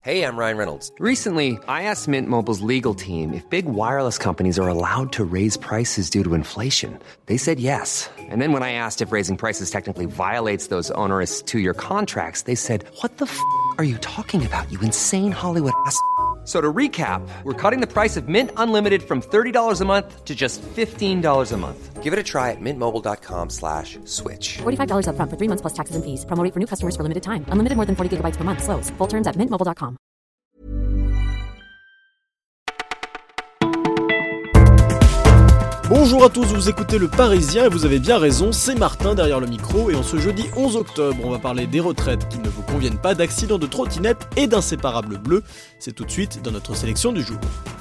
Hey, I'm Ryan Reynolds. Recently, I asked Mint Mobile's legal team if big wireless companies are allowed to raise prices due to inflation. They said yes. And then when I asked if raising prices technically violates those onerous two-year contracts, they said, "What the f*** are you talking about, you insane Hollywood ass?" So to recap, we're cutting the price of Mint Unlimited from $30 a month to just $15 a month. Give it a try at mintmobile.com/switch. $45 up front for 3 months plus taxes and fees. Promo rate for new customers for limited time. Unlimited more than 40 gigabytes per month. Slows full terms at mintmobile.com. Bonjour à tous, vous écoutez Le Parisien et vous avez bien raison, c'est Martin derrière le micro et en ce jeudi 11 octobre, on va parler des retraites qui ne vous conviennent pas, d'accidents de trottinette et d'inséparables bleus. C'est tout de suite dans notre sélection du jour.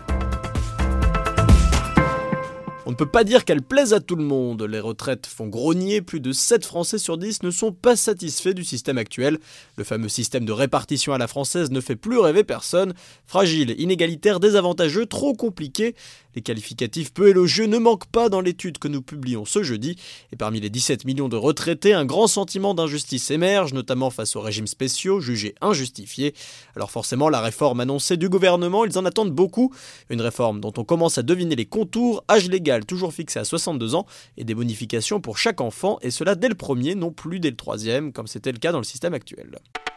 On ne peut pas dire qu'elles plaisent à tout le monde. Les retraites font grogner, plus de 7 Français sur 10 ne sont pas satisfaits du système actuel. Le fameux système de répartition à la française ne fait plus rêver personne. Fragile, inégalitaire, désavantageux, trop compliqué. Les qualificatifs peu élogieux ne manquent pas dans l'étude que nous publions ce jeudi. Et parmi les 17 millions de retraités, un grand sentiment d'injustice émerge, notamment face aux régimes spéciaux, jugés injustifiés. Alors forcément, la réforme annoncée du gouvernement, ils en attendent beaucoup. Une réforme dont on commence à deviner les contours, âge légal toujours fixé à 62 ans, et des bonifications pour chaque enfant, et cela dès le premier, non plus dès le troisième, comme c'était le cas dans le système actuel.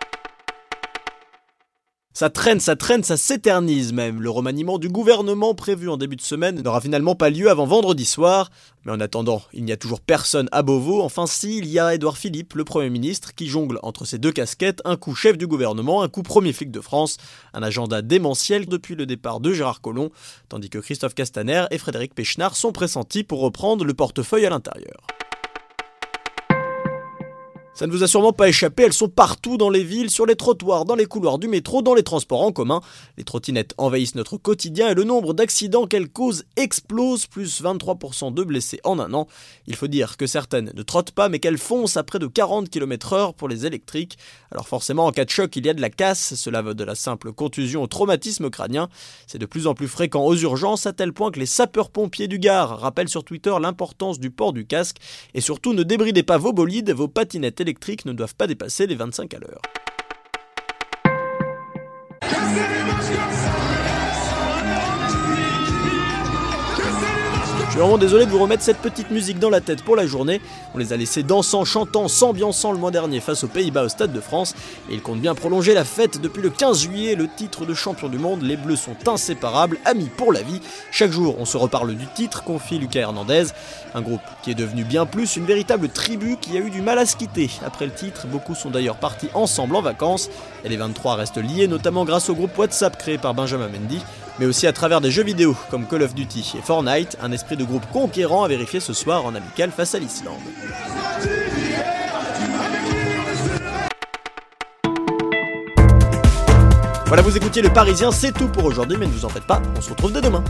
Ça traîne, ça s'éternise même. Le remaniement du gouvernement prévu en début de semaine n'aura finalement pas lieu avant vendredi soir. Mais en attendant, il n'y a toujours personne à Beauvau. Enfin si, il y a Édouard Philippe, le Premier ministre, qui jongle entre ses deux casquettes, un coup chef du gouvernement, un coup premier flic de France. Un agenda démentiel depuis le départ de Gérard Collomb, tandis que Christophe Castaner et Frédéric Péchenard sont pressentis pour reprendre le portefeuille à l'intérieur. Ça ne vous a sûrement pas échappé, elles sont partout dans les villes, sur les trottoirs, dans les couloirs du métro, dans les transports en commun. Les trottinettes envahissent notre quotidien et le nombre d'accidents qu'elles causent explose, plus 23% de blessés en un an. Il faut dire que certaines ne trottent pas, mais qu'elles foncent à près de 40 km/h pour les électriques. Alors forcément, en cas de choc, il y a de la casse, cela va de la simple contusion au traumatisme crânien. C'est de plus en plus fréquent aux urgences, à tel point que les sapeurs-pompiers du Gard rappellent sur Twitter l'importance du port du casque. Et surtout, ne débridez pas vos bolides, vos patinettes électriques ne doivent pas dépasser les 25 à l'heure. Je suis vraiment désolé de vous remettre cette petite musique dans la tête pour la journée. On les a laissés dansant, chantant, s'ambiançant le mois dernier face aux Pays-Bas au Stade de France. Et ils comptent bien prolonger la fête depuis le 15 juillet. Le titre de champion du monde, les Bleus sont inséparables, amis pour la vie. Chaque jour, on se reparle du titre, confie Lucas Hernandez. Un groupe qui est devenu bien plus, une véritable tribu qui a eu du mal à se quitter. Après le titre, beaucoup sont d'ailleurs partis ensemble en vacances. Et les 23 restent liés, notamment grâce au groupe WhatsApp créé par Benjamin Mendy, mais aussi à travers des jeux vidéo comme Call of Duty et Fortnite, un esprit de groupe conquérant à vérifier ce soir en amical face à l'Islande. Voilà, vous écoutiez Le Parisien, c'est tout pour aujourd'hui, mais ne vous en faites pas, on se retrouve dès demain.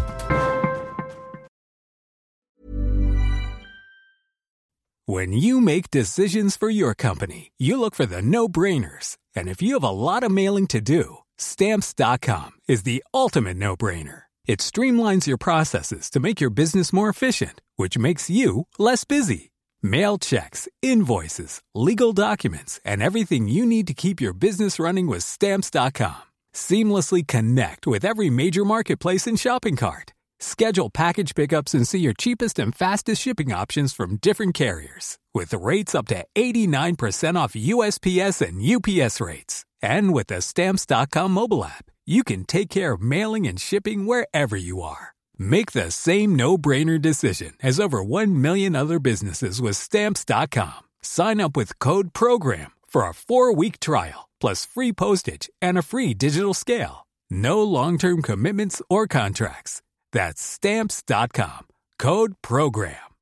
When you make decisions for your company, you look for the no-brainers. And if you have a lot of mailing to do, Stamps.com is the ultimate no-brainer. It streamlines your processes to make your business more efficient, which makes you less busy. Mail checks, invoices, legal documents, and everything you need to keep your business running with Stamps.com. Seamlessly connect with every major marketplace and shopping cart. Schedule package pickups and see your cheapest and fastest shipping options from different carriers, with rates up to 89% off USPS and UPS rates. And with the Stamps.com mobile app, you can take care of mailing and shipping wherever you are. Make the same no-brainer decision as over 1 million other businesses with Stamps.com. Sign up with code PROGRAM for a 4-week trial, plus free postage and a free digital scale. No long-term commitments or contracts. That's Stamps.com. Code PROGRAM.